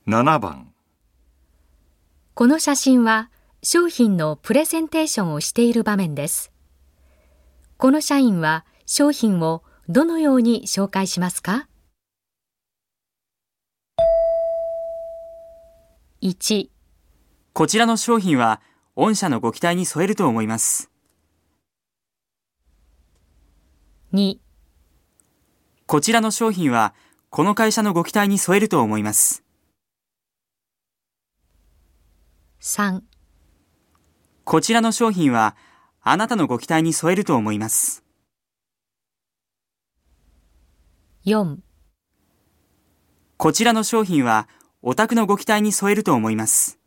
7番。 この写真は商品のプレゼンテーションをしている場面です。この社員は商品をどのように紹介しますか？ 1、 こちらの商品は御社のご期待に添えると思います。 2、 こちらの商品はこの会社のご期待に添えると思います。 3、 こちらの商品はあなたのご期待に添えると思います。 4、 こちらの商品はお宅のご期待に添えると思います。